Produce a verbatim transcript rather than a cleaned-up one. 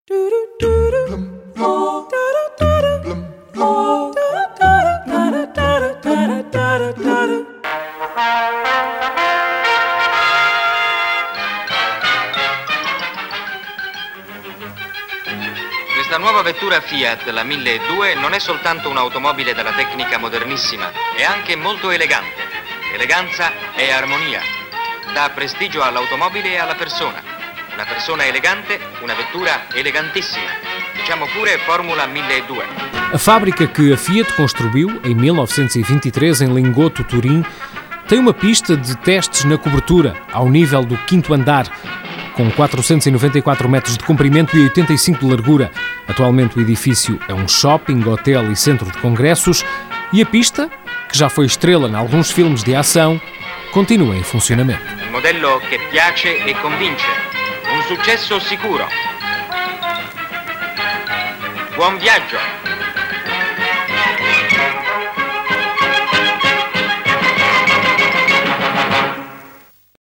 Questa nuova vettura Fiat, la mille due, non è soltanto un'automobile dalla tecnica modernissima, è anche molto elegante. Eleganza e armonia. Dà prestigio all'automobile e alla persona. Una persona elegante, una vettura elegantissima. Diciamo pure Formula mille due. A fábrica que a Fiat construiu em mil novecentos e vinte e três em Lingotto, Turim, tem uma pista de testes na cobertura, ao nível do quinto andar, com quatrocentos e noventa e quatro metros de comprimento e oitenta e cinco de largura. Atualmente o edifício é um shopping, hotel e centro de congressos e a pista, que já foi estrela em alguns filmes de ação, continua em funcionamento. Un modello che piace e convince. Un successo sicuro. Buon viaggio!